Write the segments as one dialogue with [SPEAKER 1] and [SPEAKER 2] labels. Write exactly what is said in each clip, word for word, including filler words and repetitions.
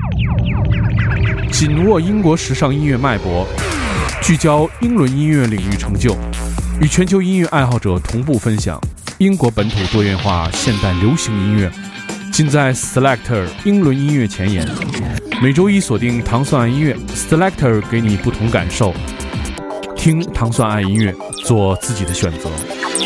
[SPEAKER 1] 紧握英国时尚音乐脉搏，聚焦英伦音乐领域成就，与全球音乐爱好者同步分享英国本土多元化现代流行音乐，尽在 Selector 英伦音乐前沿。每周一锁定糖蒜爱音乐 Selector， 给你不同感受，听糖蒜爱音乐，做自己的选择。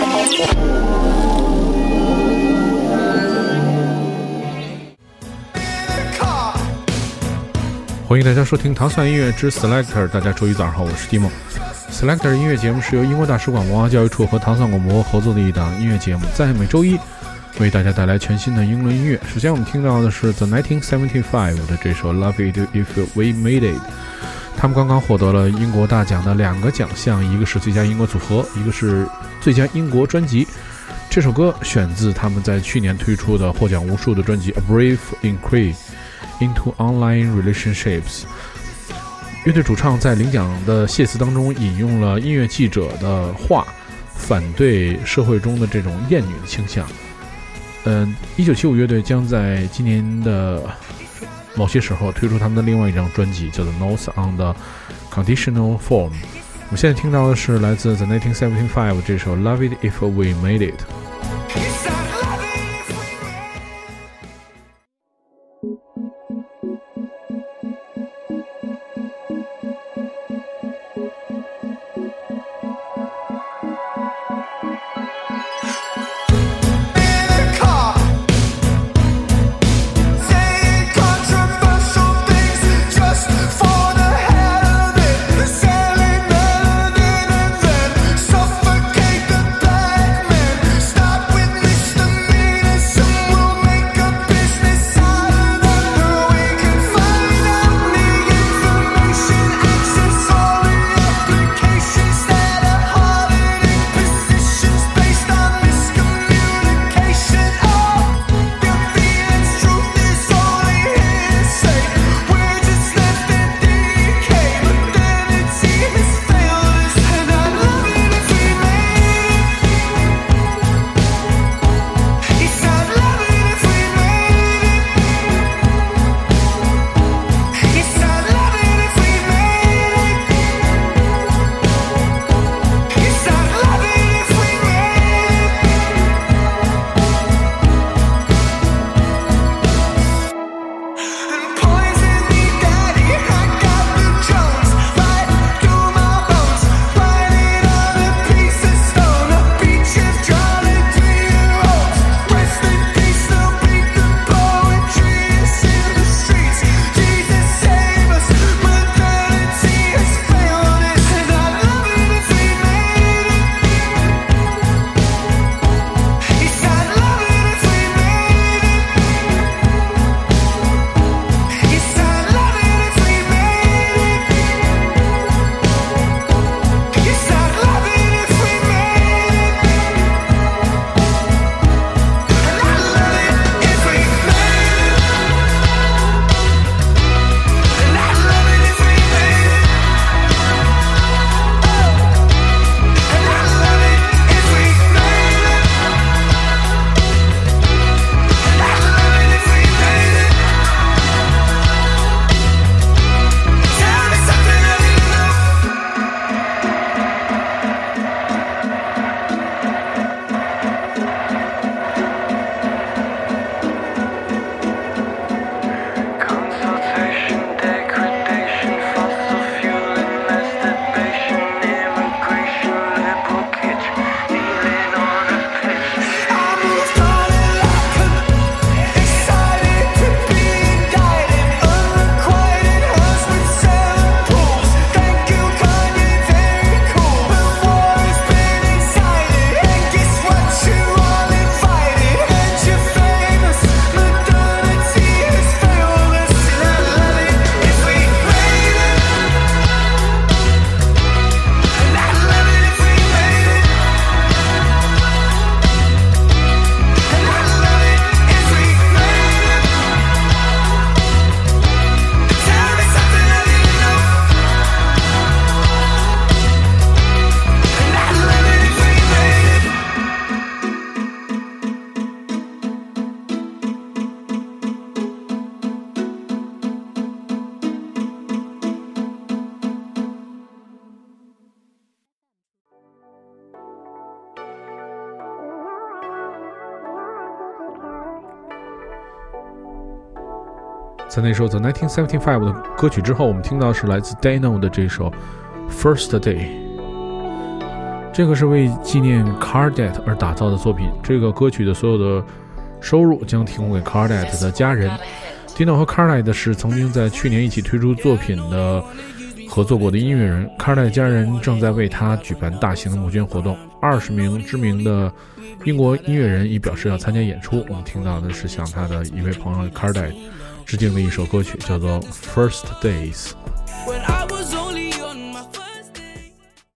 [SPEAKER 1] 欢迎大家收听糖蒜音乐之 Selector， 大家周一早上好，我是蒂梦。Selector 音乐节目是由英国大使馆文化教育处和糖蒜广播合作的一档音乐节目，在每周一为大家带来全新的英伦音乐。首先我们听到的是 The 一九七五的这首 Love It If We Made It， 他们刚刚获得了英国大奖的两个奖项，一个是最佳英国组合，一个是最佳英国专辑。这首歌选自他们在去年推出的获奖无数的专辑 A Brief Inquiry Into Online Relationships。 乐队主唱在领奖的谢词当中引用了音乐记者的话，反对社会中的这种厌女的倾向。嗯，一九七五乐队将在今年的某些时候推出他们的另外一张专辑，叫做 Notes on the Conditional Form。 我们现在听到的是来自 The 一九七五这首 Love It If We Made It。
[SPEAKER 2] Stop with misdemeanors, some will make a business out of the
[SPEAKER 1] 在那首 The 一九七五的歌曲之后，我们听到是来自 Dano 的这首 First Day， 这个是为纪念 Cardet 而打造的作品。这个歌曲的所有的收入将提供给 Cardet 的家人。Dano 和 Cardet 是曾经在去年一起推出作品的合作过的音乐人。 Cardet 家人正在为他举办大型的募捐活动，二十名知名的英国音乐人已表示要参加演出。我们听到的是向他的一位朋友 Cardet致敬的一首歌曲，叫做 First Days。
[SPEAKER 2] When I was only on my first day.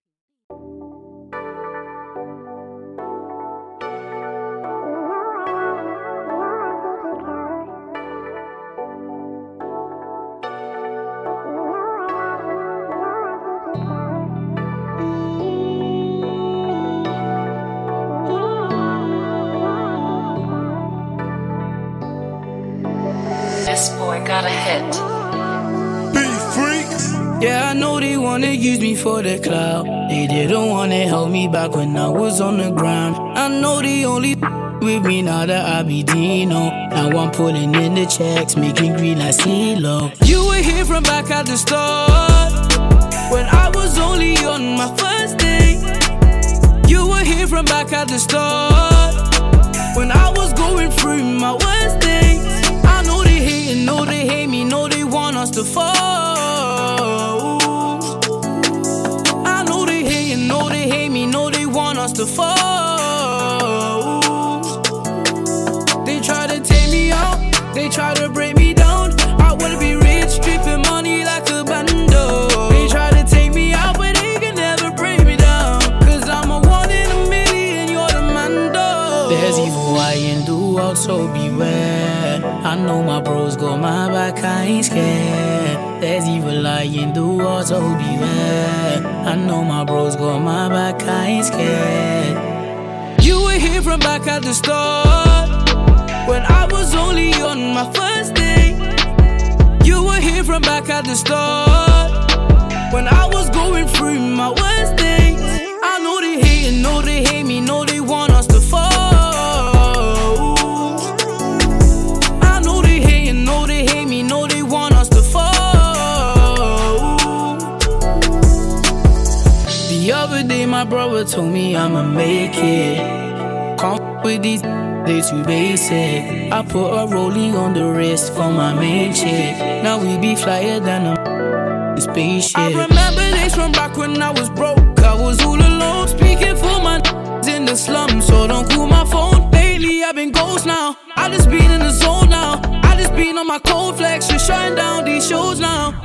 [SPEAKER 3] This boy got a hit.
[SPEAKER 2] Yeah, I know they wanna use me for the clout. They didn't wanna help me back when I was on the ground. I know they only with me now that I be Dino. Now I'm pulling in the checks, making green like CeeLo. You were here from back at the start, when I was only on my first day. You were here from back at the start, when I was going through my worst days. I know they hating, know they hate me, know they want us to fall. I know they hating, know they hate me, know they want us to fall. They try to take me out, they try to break me down. I wanna be rich, dripping money like a bando. They try to take me out, but they can never break me down. Cause I'm a one in a million, you're the mando. There's evil I in the world, so beware. I know my bros got my back, I ain't scared. There's evil I in the world, so beware. I know my bros got my back, I ain't scared. You were here from back at the start, when I was only on my first day. You were here from back at the start, when I was going through my worst days. I know they hating, know they hate me, know they want us to fall. I know they hating, know they hate me, know they want us to fall. The other day my brother told me I'ma make it. Can't f- with these, they too basic. I put a rollie on the wrist for my main chick. Now we be flyer than a spaceship. I remember days from back when I was broke. I was all alone, speaking for my in the slum. So don't call my phone. Lately I've been ghost now. I just been in the zone now. I just been on my cold flex, just shutting down these shows now.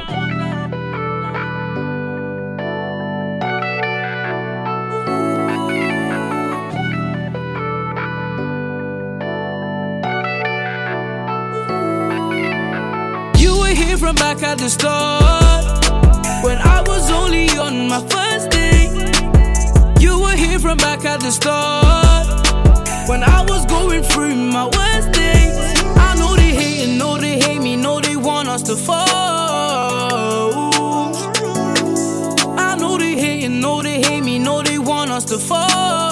[SPEAKER 2] From back at the start, when I was only on my first day. You were here from back at the start, when I was going through my worst days. I know they hating, know they hate me, know they want us to fall. I know they hating, know they hate me, know they want us to fall.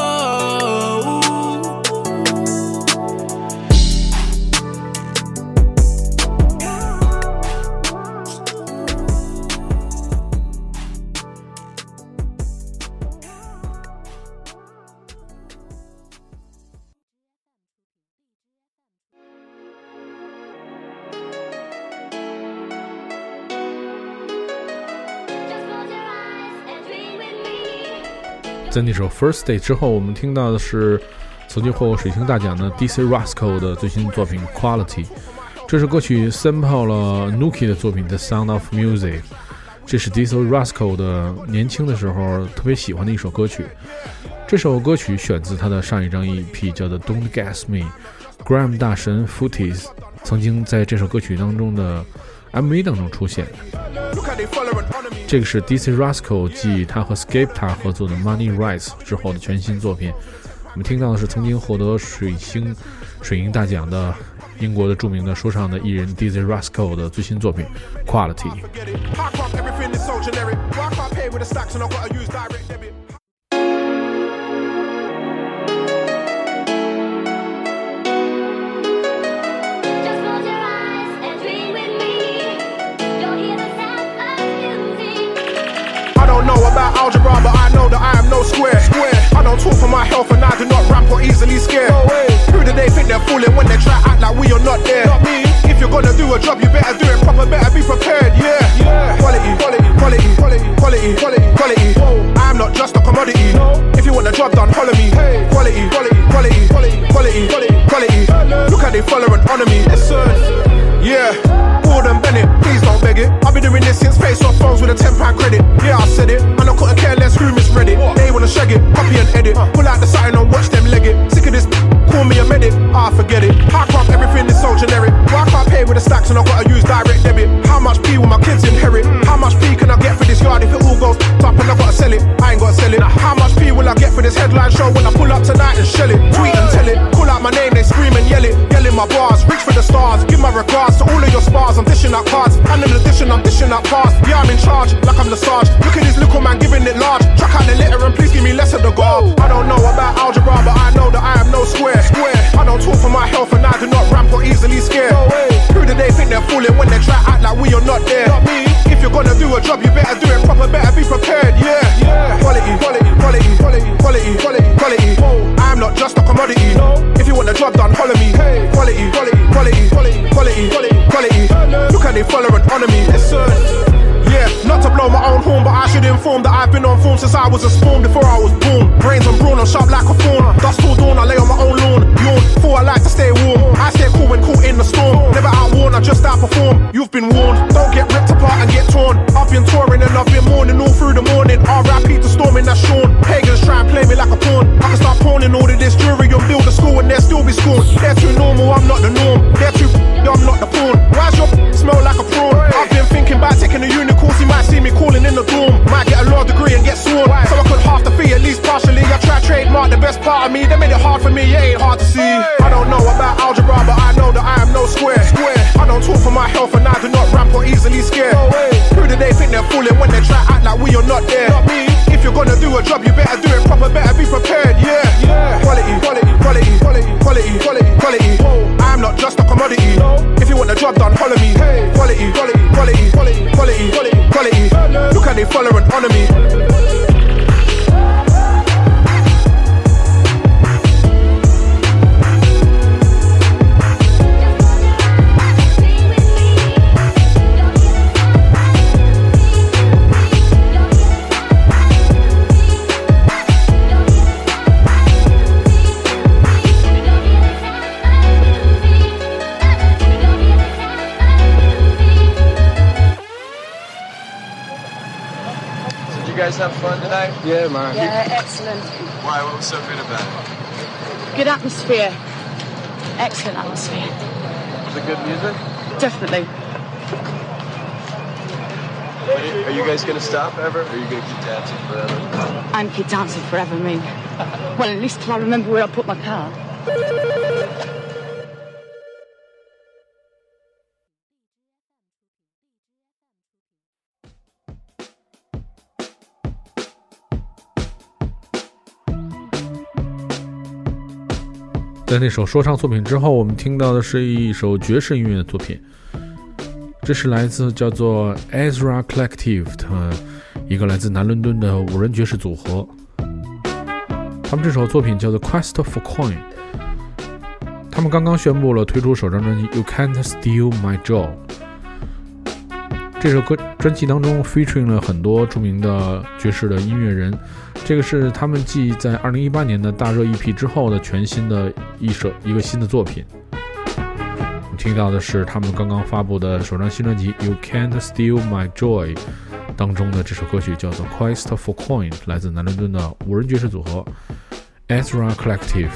[SPEAKER 1] 在那首 First Day 之后，我们听到的是曾经获过水星大奖的 D C Rascal 的最新作品 Quality。 这首歌曲 sample 了 Nuki 的作品 The Sound of Music， 这是 D C Rascal 的年轻的时候特别喜欢的一首歌曲。这首歌曲选自他的上一张 E P 叫做 Don't Gas Me。 Grime 大神 Footies 曾经在这首歌曲当中的 M V 当中出现。这个是 D C Rascal 继他和 Skepta 合作的 Money Rise 之后的全新作品。我们听到的是曾经获得水星水银大奖的英国的著名的说唱的艺人 D C Rascal 的最新作品 Quality。
[SPEAKER 4] Just close your eyes and dream with me.
[SPEAKER 3] don't know about algebra, but I know that I am no square. Square. I don't talk for my health and I do not ramp or easily scare. No way. Who do they think they're fooling when they try act like we are not there? Not me. If you're gonna do a job, you better do it proper, better be prepared. Yeah. Yeah. Quality, quality, quality, quality, quality, quality, quality. I'm not just a commodity. No. If you want the job done, holler me. Hey. Quality, quality, quality, quality, quality, quality, quality. Look how they follow and honor me. Listen. Yeah. Gordon Bennett, please don't beg it. I've been doing this since face off phones with a ten pound credit. Yeah, I said it, and I couldn't care less who misread it. They wanna shag it, copy and edit. Pull out the sign and watch them leg it. Sick of this, call me a medic. Ah, forget it. How come everything is so generic? Why can't I pay with the stacks and I gotta use direct debit? How much P will my kids inherit? How much P can I get for this yard if it all goes up and I gotta sell it? I ain't gotta sell it. How much P will I get for this headline show when I pull up tonight and shell it? Tweet and tell it, call out my name, they scream and yell it. Yelling my bars, reach for the stars, give my regards to all of your spars. I'm dishing out cards, and in addition I'm dishing out past. Yeah, I'm in charge, like I'm the Sarge. Look at this little man giving it large. Chuck out the litter and please give me less of the garb. I don't know about algebra, but I know that I am no square. Square. I don't talk for my health and I do not ramp or easily scare. No way. Who do they think they're fooling when they try act like we are not there? Not me. If you're gonna do a job, you better do it proper, better be prepared. Yeah. Yeah. Quality, quality, quality, quality, quality, quality, quality. I'm not just a commodity. No. If you want the job done, holler me. Hey. Quality, quality, quality, quality, quality, quality, quality. Look how they follow and honor me. Listen. Yeah, not to blow my own horn, but I should inform that I've been on form since I was a spawn before I was born. Brains and brawn, I'm sharp like a fawn. Dust till dawn, I lay on my own lawn. Yawn, thought I like to stay warm. I stay cool when caught in the storm. Never outworn, I just outperform. You've been warned, don't get ripped apart and get torn. I've been touring and I've been mourning all through the morning. R I P to storming, that's Sean. Pagans try and play me like a pawn. I can start pawning all of this jewelry and build a school and they'll still be scorned. They're too normal, I'm not the norm. They're too I'm not the pawn. Why's your smell like a prawn? I've been thinking about taking a uni course. You might see me calling in the dorm. Might get a law degree and get sworn. So I could half the fee at least partially. I try to trademark the best part of me. They made it hard for me, it ain't hard to see. I don't know about algebra, but I know that I am no square. Square. I don't talk for my health and I do not ramp or easily scare. No way. Who do they think they're fooling when they try act like we are not there? Not me. If you're gonna do a job, you better do it proper, better be prepared. Yeah. Yeah. Quality, quality, quality, quality, quality, quality, quality. I'm not just a commodity. No. If you want the job done, holler me. Hey. Quality, quality, quality, quality, quality, quality, quality. Look how they follow and honor me.
[SPEAKER 4] You guys have fun tonight?
[SPEAKER 3] Yeah, man.
[SPEAKER 5] Yeah, excellent.
[SPEAKER 4] Why? What was so good about it?
[SPEAKER 5] Good atmosphere. Excellent atmosphere.
[SPEAKER 4] Was it good music?
[SPEAKER 5] Definitely.
[SPEAKER 4] Are you, are you guys going to stop ever? Or are you going to keep dancing forever?
[SPEAKER 5] I'm keep dancing forever, I mean. Well, at least till I remember where I put my car.
[SPEAKER 1] 在那首说唱作品之后，我们听到的是一首爵士音乐的作品，这是来自叫做 Ezra Collective 的一个来自南伦敦的五人爵士组合。他们这首作品叫做 Quest for Coin。他们刚刚宣布了推出首张专辑 You Can't Steal My Joy。这首歌专辑当中 featuring 了很多著名的爵士的音乐人，这个是他们继在二零一八年的大热 E P 之后的全新的一首一个新的作品。我们听到的是他们刚刚发布的首张新专辑 You Can't Steal My Joy 当中的这首歌曲叫做 Quest for Coin， 来自南伦敦的五人爵士组合 Ezra Collective。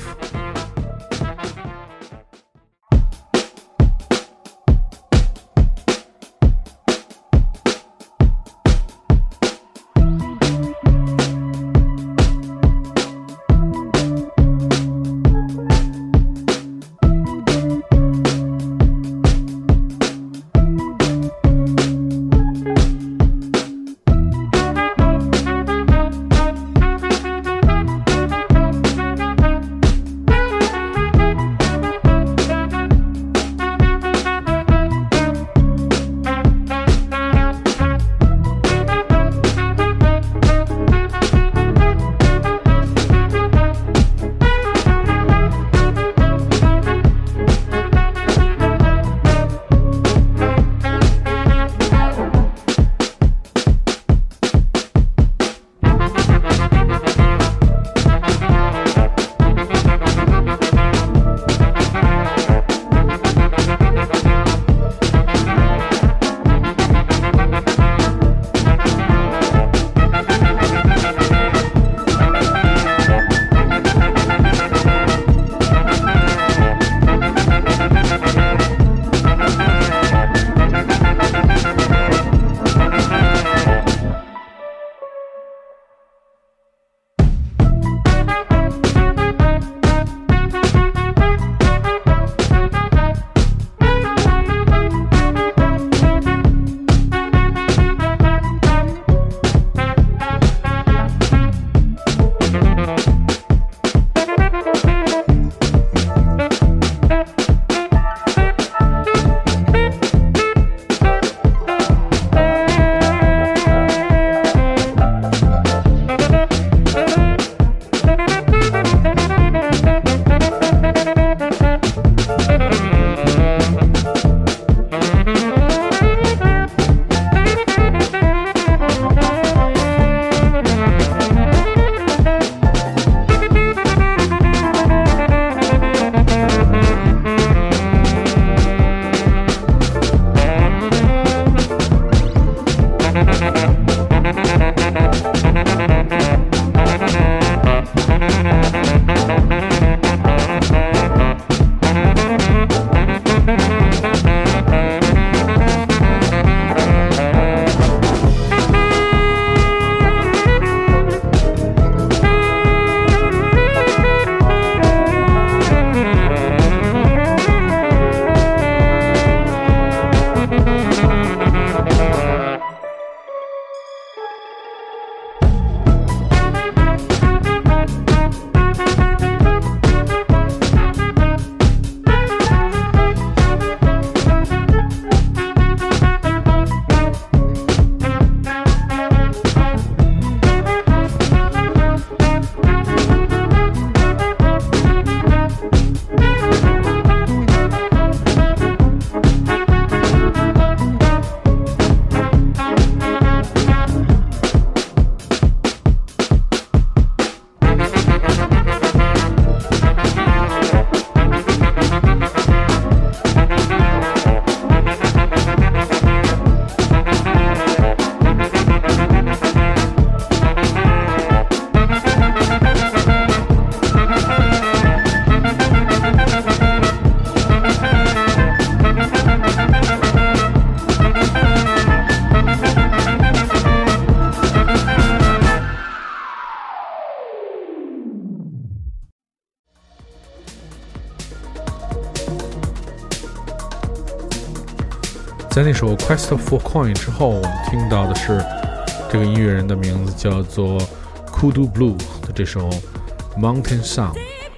[SPEAKER 1] 在那首 Quest for Coin 之后，我们听到的是这个音乐人的名字叫做 Kudu Blue 的这首 Mountain Song。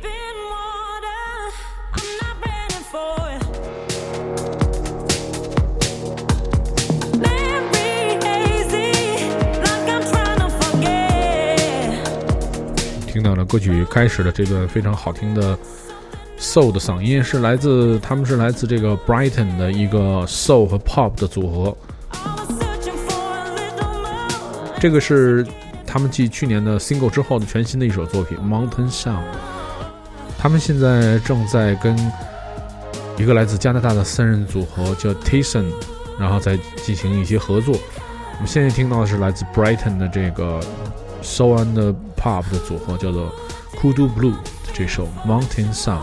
[SPEAKER 1] 听到了歌曲开始的这段非常好听的 Soul 的嗓音，是来自他们是来自这个 Brighton 的一个 Soul 和 Pop 的组合。这个是他们继去年的 Single 之后的全新的一首作品 Mountain Song。他们现在正在跟一个来自加拿大的三人组合叫 Tyson， 然后再进行一些合作。我们现在听到的是来自 Brighton 的这个 Soul and Pop 的组合，叫做 Kudu Blue 的这首 Mountain Song。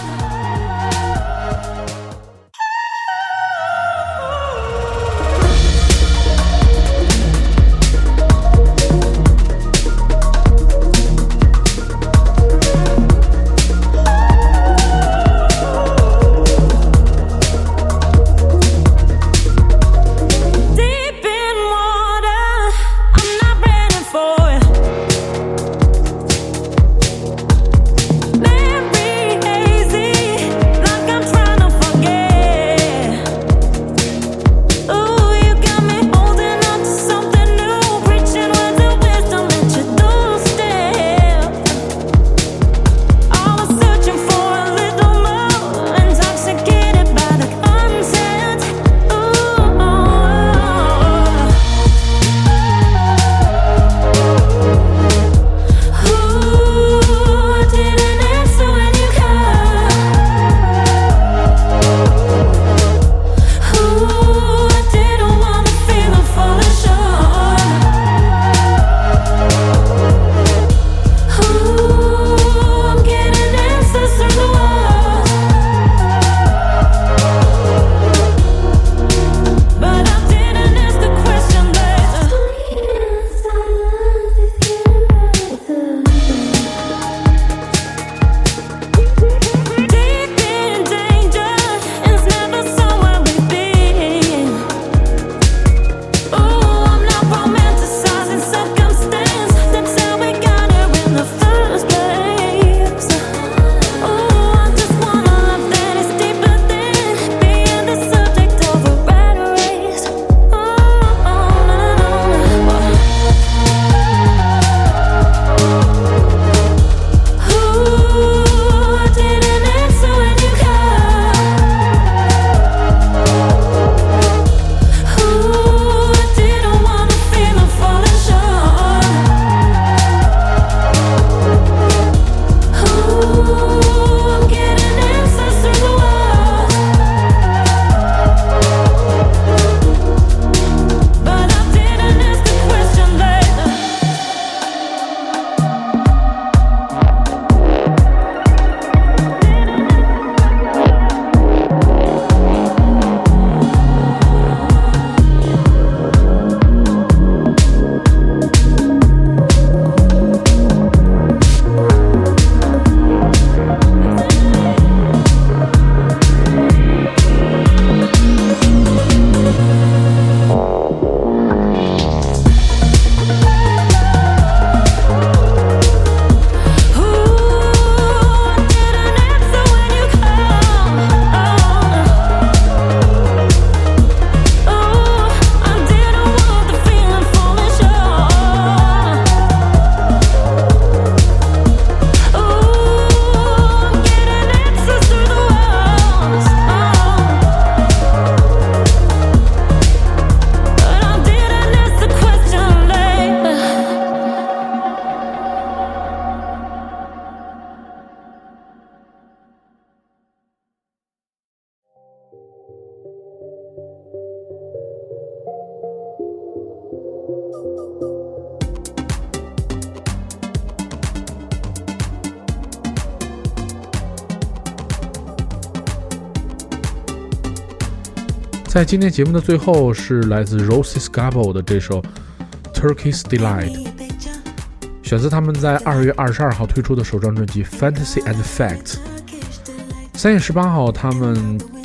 [SPEAKER 1] 在今天节目的最后是来自 Rosie Scabo 的这首 Turkey's Delight， 选自他们在二月二十二号推出的首张专辑 Fantasy and Facts。 三月十八号他们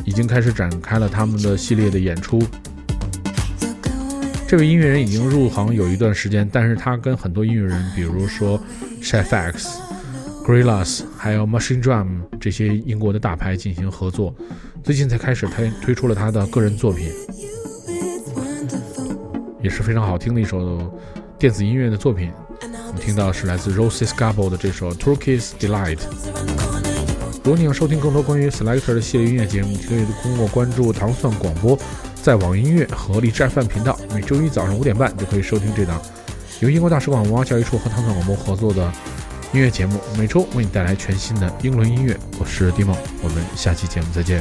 [SPEAKER 1] 已经开始展开了他们的系列的演出。这位音乐人已经入行有一段时间，但是他跟很多音乐人，比如说 Chef X、Gorillaz 还有 Machine Drum 这些英国的大牌进行合作，最近才开始推推出了他的个人作品，也是非常好听的一首电子音乐的作品。我们听到是来自 Rosie Scarborough 的这首 Turkish Delight。如果你要收听更多关于 Selector 的系列音乐节目，你可以通过关注糖蒜广播，在网易音乐和荔枝 F M 频道，每周一早上五点半就可以收听这档由英国大使馆文化教育处和糖蒜广播合作的音乐节目，每周为你带来全新的英伦音乐。我是 Dimo， 我们下期节目再见。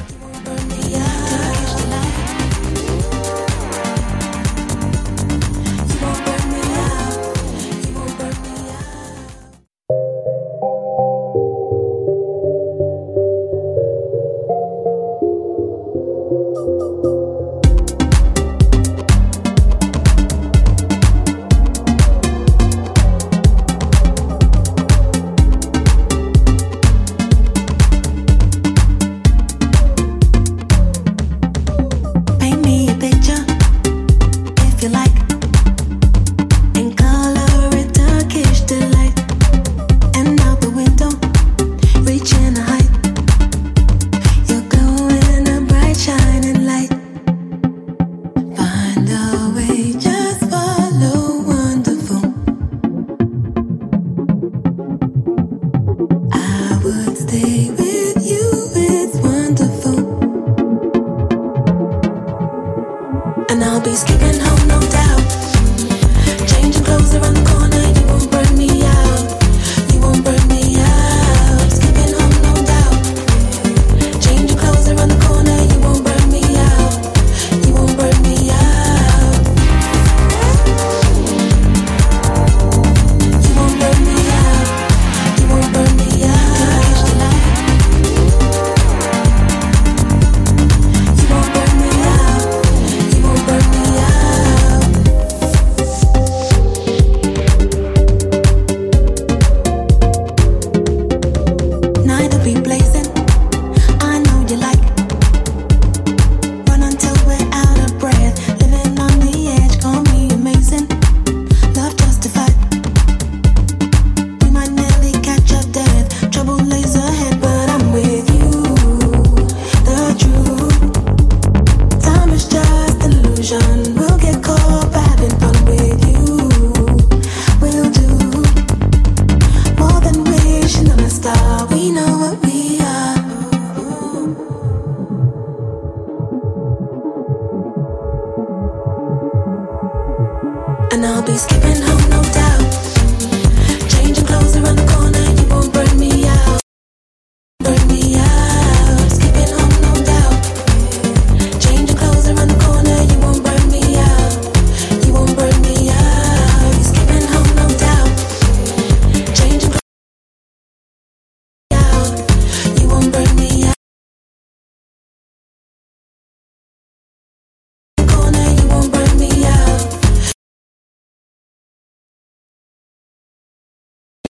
[SPEAKER 6] And I'll be skipping home, no doubt. Changing clothes around the corner, you won't burn me